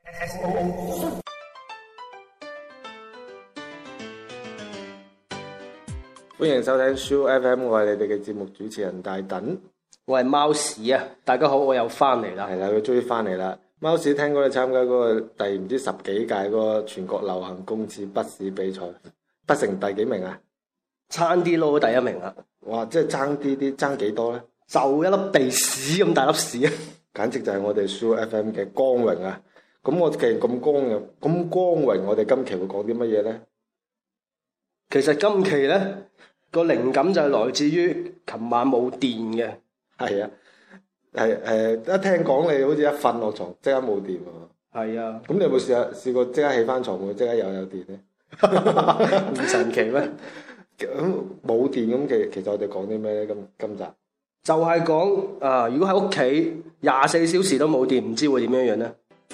歡迎收聽 Soo FM， 我係你哋嘅節目主持人大躉， 我係貓屎啊！大家好，我又翻嚟啦。 係啦，佢終於翻嚟啦。貓屎聽講你參加嗰個第唔知10幾屆嗰個全國流行公廁筆試比賽，筆成第幾名啊？ 差啲攞第一名啦！ 哇，即係爭啲，爭幾多咧？ 就一粒鼻屎咁大粒屎啊！ 簡直就係我哋 Soo FM 嘅光榮啊！咁我既然咁光榮，我哋今期會講啲乜嘢咧？ 其實今期咧個靈感就係來自於琴晚冇電嘅。 係啊，一聽講你好似一瞓落床即刻冇電喎。 係啊， 咁你有冇試過即刻起翻床會即刻有電咧？ 唔神奇咩？ 咁冇電咁其實我哋講啲咩咧？今集就係講啊，如果喺屋企24小時都冇電，唔知會點樣樣咧？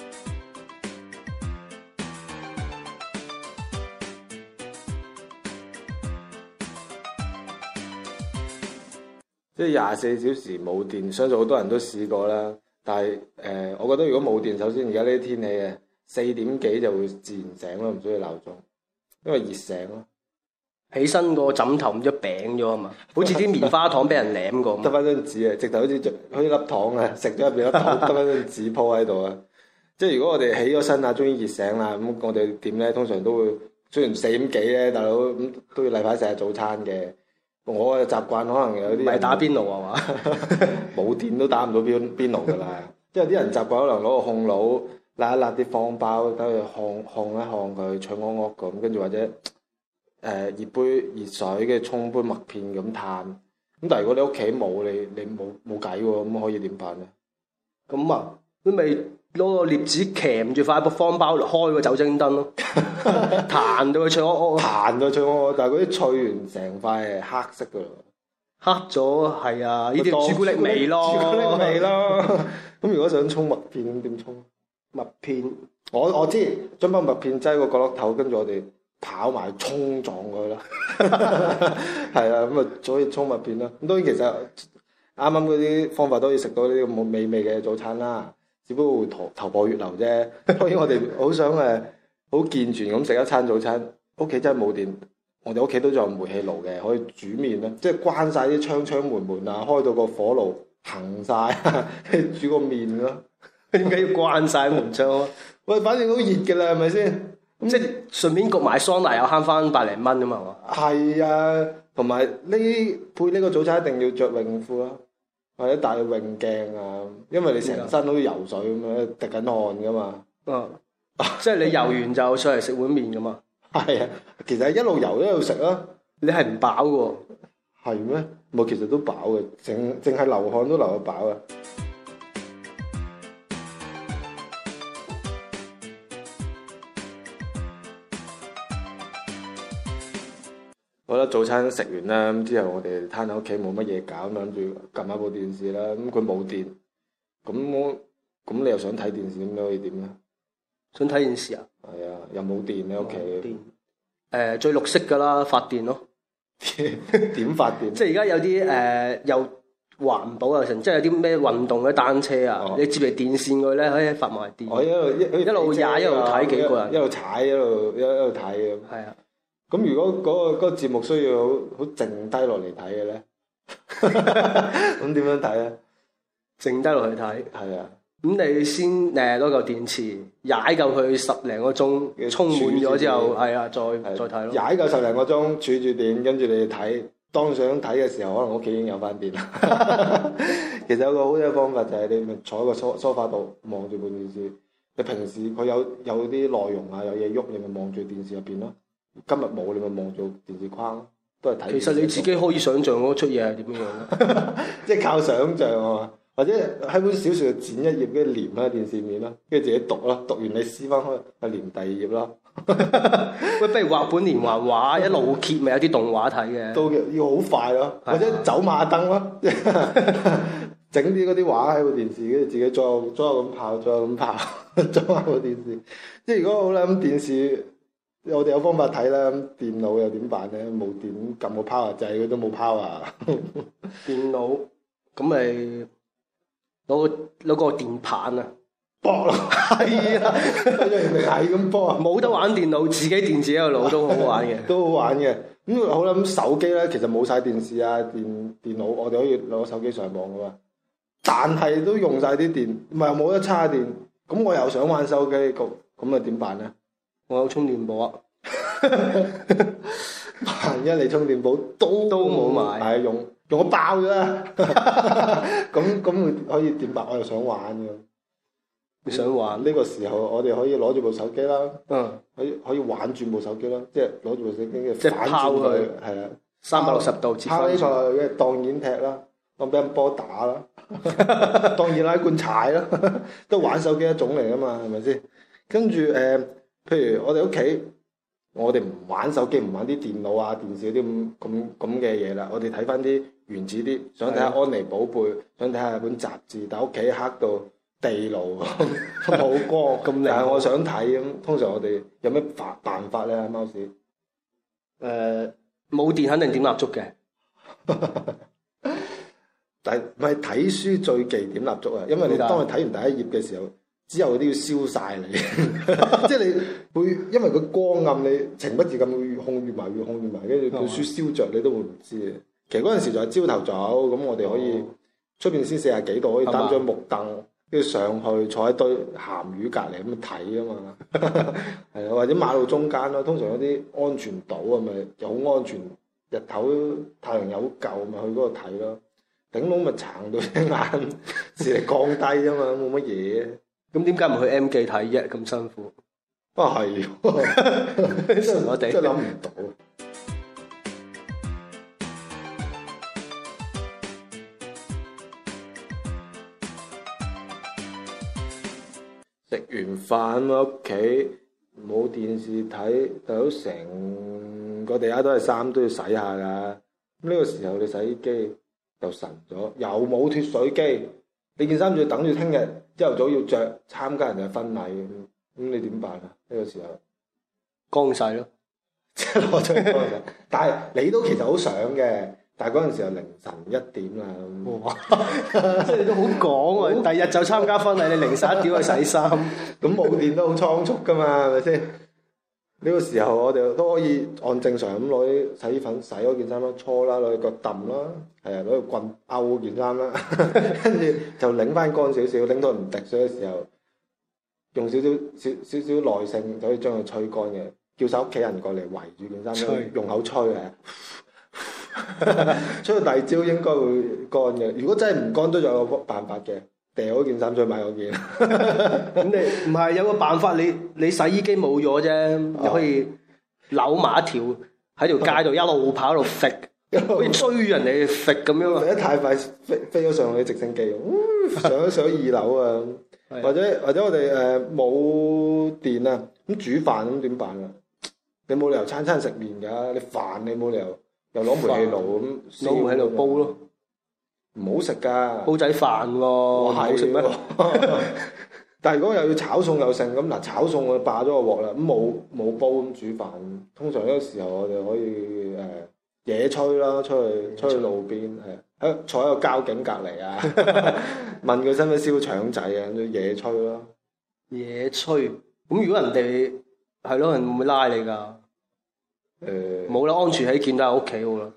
即係24小時冇電，相信好多人都試過啦。但係我覺得如果冇電，首先而家呢啲天氣啊，4點幾就會自然醒咯，唔需要鬧鐘，因為熱醒咯。 起身個枕頭唔知餅咗啊嘛，好似啲棉花糖俾人舐過。 得翻張紙啊，直頭好似粒糖啊，食咗入邊粒糖，得翻張紙鋪喺度啊。即係如果我哋起咗身啊，終於熱醒啦，咁我哋點咧？通常都會雖然4點幾咧，大佬咁都要例牌食下早餐嘅。我嘅習慣可能有啲唔係打邊爐啊嘛， 冇電都打唔到邊爐噶啦。即係有啲人習慣可能攞個控爐辣一辣啲方包，等佢烘一烘佢，脆鵝鵝咁，跟住或者熱杯熱水嘅沖杯麥片咁嘆。咁但係如果你屋企冇，你冇計喎，咁可以點辦咧？ 咁啊，你咪攞個鑷子鉗住塊方包開個酒精燈咯，彈到佢脆鵝鵝， 彈到脆鵝鵝，但係嗰啲脆完成塊係黑色噶咯， 黑咗係啊！呢啲朱古力味咯， 朱古力味咯。咁如果想沖麥片咁點沖？ 麥片我知，將包麥片擠個角落頭，跟住我哋跑埋衝撞佢啦。係啊，咁啊可以沖麥片啦。咁當然其實啱啱嗰啲方法都可以食到呢啲咁美味嘅早餐啦。只不過會頭破血流啫。當然我哋好想好健全咁食一餐早餐。屋企真係冇電，我哋屋企都仲有煤氣爐嘅，可以煮麵啦。即係關晒啲窗門啊，開到個火爐行晒，煮個麵咯。 點解要關晒門窗啊？ 喂，反正都熱嘅啦，係咪先？ 即係順便焗埋桑拿又慳翻100零蚊啊嘛。 係啊，同埋配呢個早餐一定要着泳褲啦。或者戴泳鏡啊，因為你成身都游水咁樣，滴緊汗噶嘛。 即係你游完就上嚟食碗麵噶嘛。 係啊，其實一路游一路食啦。 你係唔飽嘅？ 係咩？冇，其實都飽嘅，淨係流汗都流得飽啊。我覺得早餐食完啦，咁之後我哋攤喺屋企冇乜嘢搞，咁諗住撳下部電視啦。咁佢冇電，咁你又想睇電視，咁可以點咧？ 想睇電視啊？ 係啊，又冇電喺屋企。 最綠色噶啦，發電咯。 點發電？ 即係而家有啲又環保又成，即係有啲咩運動嘅單車啊，你接嚟電線佢咧可以發埋電。一路踩一路睇幾個人， 一路踩一路睇咁。係啊。咁如果嗰個節目需要好靜低落嚟睇嘅咧，咁點樣睇咧？ 靜低落去睇。係啊。咁你先攞嚿電池踩夠佢10零個鐘，充滿咗之後，係啊，再睇咯。 踩夠10零個鐘，儲住電，跟住你睇。當想睇嘅時候，可能屋企已經有翻電啦。其實有個好嘅方法就係你咪坐喺個梳化度望住部電視。你平時佢有啲內容啊，有嘢喐，你咪望住電視入邊咯。今日冇，你咪望住電視框，都係睇。其實你自己可以想像嗰出嘢係點樣， 即係靠想像啊嘛。或者喺本小説度剪一頁，跟住連喺電視面咯，跟住自己讀咯，讀完你撕翻開，係連第2頁咯。 喂，不如畫本連環畫，一路揭咪有啲動畫睇嘅。 都要好快咯，或者走馬燈咯，整啲嗰啲畫喺部電視，跟住自己左右咁跑，左右咁跑，裝下部電視。即係如果好啦，咁電視我哋有方法睇啦，咁電腦又點辦咧？冇電撳個 power 掣，佢都冇 power。 電腦咁咪攞個電棒啊， 搏咯， 係啊， 人哋係咁搏啊， 冇得玩電腦，自己電自己個腦都好好玩嘅， 都好玩嘅。咁好啦，咁手機咧其實冇晒電視啊、電腦，我哋可以攞手機上網噶嘛。但係都用晒啲電，唔係冇得叉電，咁我又想玩手機，咁啊點辦咧？ 我有充電寶啊， 萬一你充電寶都冇買， 係用我爆咗啦，咁會可以點辦？我又想玩嘅。 你想玩呢個時候，我哋可以攞住部手機啦，可以玩轉部手機啦，即係攞住部手機嘅反轉佢，係啊 ，360度拋起上去嘅當然踢啦，當乒乓波打啦，當然拉罐踩啦，都玩手機一種嚟噶嘛，係咪先？跟住譬如我哋屋企，我哋唔玩手機，唔玩啲電腦啊、電視嗰啲咁嘅嘢啦，我哋睇翻啲原始啲，想睇下安妮寶貝，想睇下本雜誌，但係屋企黑到地牢冇光，但係我想睇咁，通常我哋有咩辦法咧？貓屎冇電肯定點蠟燭嘅， 但係唔係睇書最忌點蠟燭啊？因為你當你睇完第一頁嘅時候，之後嗰啲要燒晒你，即係你會因為個光暗，你情不自禁會越控越埋，跟住本書燒着你都會唔知嘅。其實嗰陣時就係朝頭早，咁我哋可以出邊先40幾度，可以擔張木凳。跟住上去坐喺堆鹹魚隔離咁睇啊嘛，係啊，或者馬路中間咯，通常有啲安全島啊，咪又好安全，日頭太陽又好夠，咪去嗰度睇咯。頂籠咪撐到隻眼視力降低啫嘛，冇乜嘢。 咁點解唔去 M 記睇啫？咁辛苦。 啊係，我哋真係諗唔到。食完飯喺屋企冇電視睇，大佬成個地下都係衫都要洗下㗎。咁呢個時候你洗衣機又神咗，又冇脫水機，你件衫仲要等住聽日朝頭早要着參加人哋嘅婚禮，咁你點辦啊？呢個時候乾洗咯， 即係攞出嚟乾洗。但係你都其實好想嘅。但係嗰陣時候凌晨1點啦， 哇！即係你都好講喎，第日就參加婚禮，你凌晨1點去洗衫，咁冇電都好倉促噶嘛，係咪先？呢個時候我哋都可以按正常咁攞啲洗衣粉洗嗰件衫啦，搓啦，攞個揼啦，係啊，攞個棍勾件衫啦，跟住就擰翻乾少少，擰到唔滴水嘅時候，用少少耐性就可以將佢吹乾嘅，叫晒屋企人過嚟圍住件衫，用口吹嘅。吹到第二朝應該會乾嘅，如果真係唔乾都仲有個辦法嘅，掉嗰件衫再買嗰件。 咁你唔係有個辦法？你洗衣機冇咗啫，你可以扭埋一條喺條街度一路跑一路揈，好似追人哋揈咁樣。 揈得太快，飛咗上去直升機，上2樓啊！或者我哋冇電啊，咁煮飯咁點辦啊？你冇理由餐食麵㗎，你飯你冇理由。又攞煤氣爐咁， 攞煤氣爐煲咯， 唔好食噶， 煲仔飯喎，唔好食咩？ 但係如果又要炒餸又剩咁，嗱炒餸我霸咗個鑊啦，咁冇煲咁煮飯。通常呢個時候我哋可以野炊啦，出去路邊係坐喺個交警隔離啊，問佢使唔使燒腸仔啊，野炊咯。 野炊咁，如果人哋係咯，人會唔會拉你㗎？冇啦，安全起見都喺屋企好啦。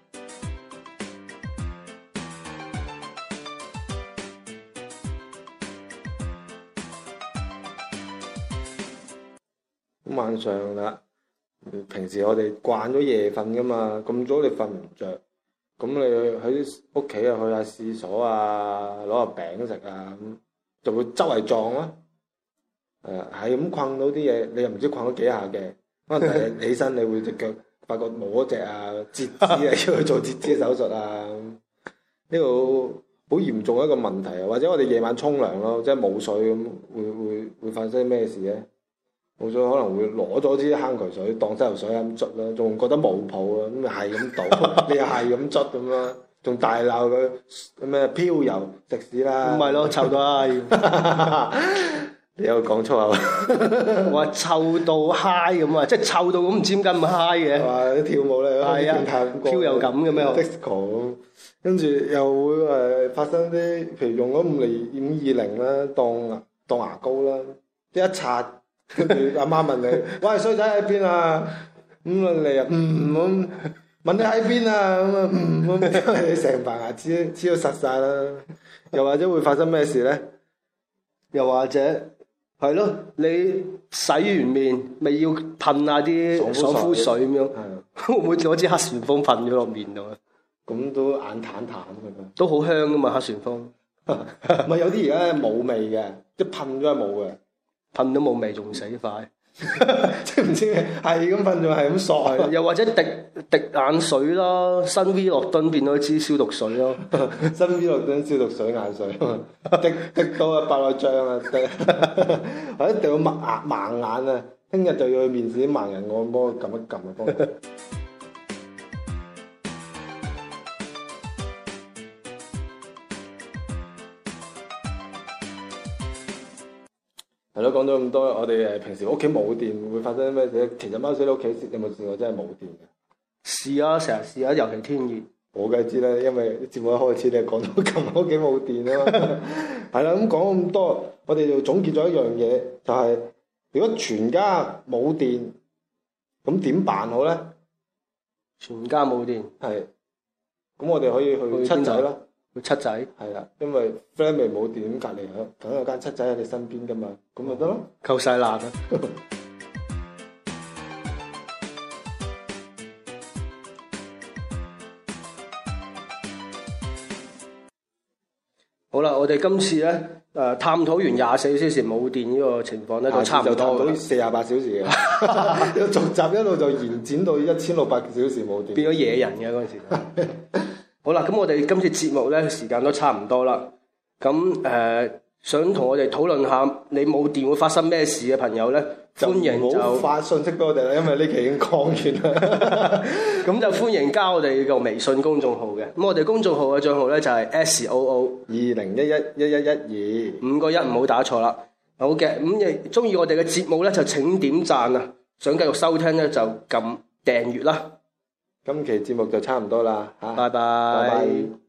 咁晚上啦，平時我哋慣咗夜瞓噶嘛，咁早你瞓唔着，咁你喺屋企啊去下廁所啊，攞下餅食啊，咁就會周圍撞啦。係咁困到啲嘢，你又唔知困咗幾下嘅。可能第日起身，你會隻腳發覺冇一隻啊，截肢啊，要去做截肢手術啊。呢個好嚴重一個問題啊！或者我哋夜晚沖涼咯，即係冇水咁，會發生咩事咧？冇水可能會攞咗支坑渠水當洗頭水咁捽啦，仲覺得冇泡啊，咁咪係咁倒，你又係咁捽咁啦，仲大鬧佢咩漂遊食屎啦！ 唔係咯，臭到閪！ 你有講粗口？ 我話臭到嗨咁啊，即係臭到咁唔知點解咁嗨嘅。 話啲跳舞咧， 係啊，飄又咁嘅咩 ？disco 咁，跟住又會發生啲，譬如用咗520啦，當當牙膏啦，一刷，跟住阿媽問你，喂，衰仔喺邊啊？咁啊你啊咁問你喺邊啊？咁啊咁，你成排牙齒黐到實晒啦。又或者會發生咩事咧？ 又或者係咯，你洗完面咪要噴下啲爽膚水咁樣，會唔會攞支黑旋風噴咗落面度啊？ 咁都眼淡淡㗎嘛， 都好香噶嘛黑旋風。 唔係有啲而家冇味嘅，即係噴咗係冇嘅， 噴都冇味仲死快。 即係唔知係咁噴仲係咁索， 又或者滴眼水啦，新 V 樂敦變咗支消毒水咯， 新 V 樂敦消毒水眼水，滴到啊白內障啊，或者滴到盲眼啊，聽日就要去面試啲盲人按摩撳一撳啊幫佢。係咯，講咗咁多，我哋平時屋企冇電會發生咩事？其實貓屎你屋企有冇試過真係冇電嘅？ 試啊，成日試啊，尤其天熱。 我梗係知啦，因為節目一開始你係講到琴日屋企冇電啊嘛。係啦，咁講咁多，我哋就總結咗一樣嘢，就係如果全家冇電，咁點辦好咧？ 全家冇電， 係，咁我哋可以去七仔啦。 去七仔， 係啦，因為 friend 咪冇電，隔離梗有間七仔喺你身邊噶嘛，咁咪得咯， 夠晒辣啊！好啦，我哋今次咧探討完24小時冇電呢個情況咧，都差唔多到48小時嘅，要續集一路就延展到1600小時冇電， 變咗野人嘅嗰陣時。好啦，咁我哋今次節目咧時間都差唔多啦。咁想同我哋討論下你冇電會發生咩事嘅朋友咧，歡迎就發信息俾我哋啦，因為呢期已經講完啦。 咁就歡迎加我哋個微信公眾號嘅。咁我哋公眾號嘅帳號咧就係 SOO20111112， 5個1唔好打錯啦。好嘅，咁亦中意我哋嘅節目咧就請點讚啊！想繼續收聽咧就撳訂閱啦。 今期節目就差唔多啦，嚇， 拜拜。 拜拜。